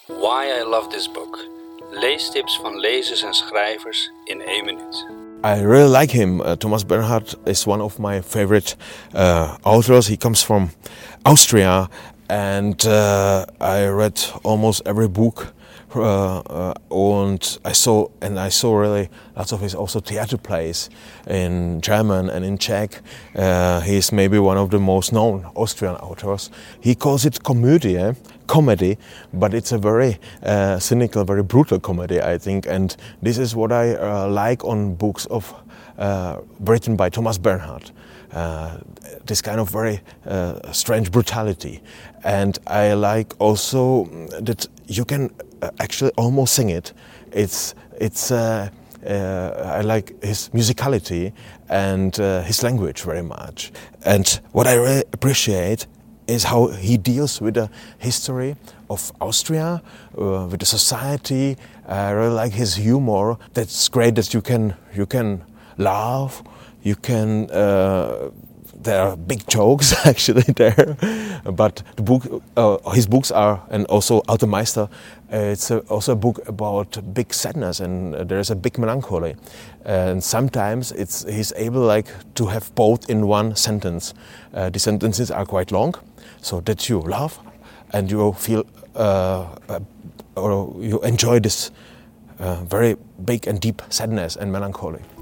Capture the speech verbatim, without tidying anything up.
Why I love this book. Leestips van lezers en schrijvers in één minuut. I really like him. Uh, Thomas Bernhard is one of my favorite uh, authors. He comes from Austria, and uh, I read almost every book. Uh, uh, and I saw and I saw really lots of his also theater plays in German and in Czech. Uh, he is maybe one of the most known Austrian authors. He calls it Komödie, comedy, but it's a very uh, cynical, very brutal comedy, I think. And this is what I uh, like on books of uh, written by Thomas Bernhard. Uh, this kind of very uh, strange brutality, and I like also that you can actually almost sing it. It's it's. Uh, uh, I like his musicality and uh, his language very much. And what I really appreciate is how he deals with the history of Austria, uh, with the society. I really like his humor. That's great that you can you can laugh. You can. Uh, there are big jokes actually there, but the book, uh, his books are, and also Alter Meister. Uh, it's a, also a book about big sadness, and uh, there is a big melancholy, and sometimes it's he's able like to have both in one sentence. Uh, the sentences are quite long, so that you laugh, and you feel uh, uh, or you enjoy this uh, very big and deep sadness and melancholy.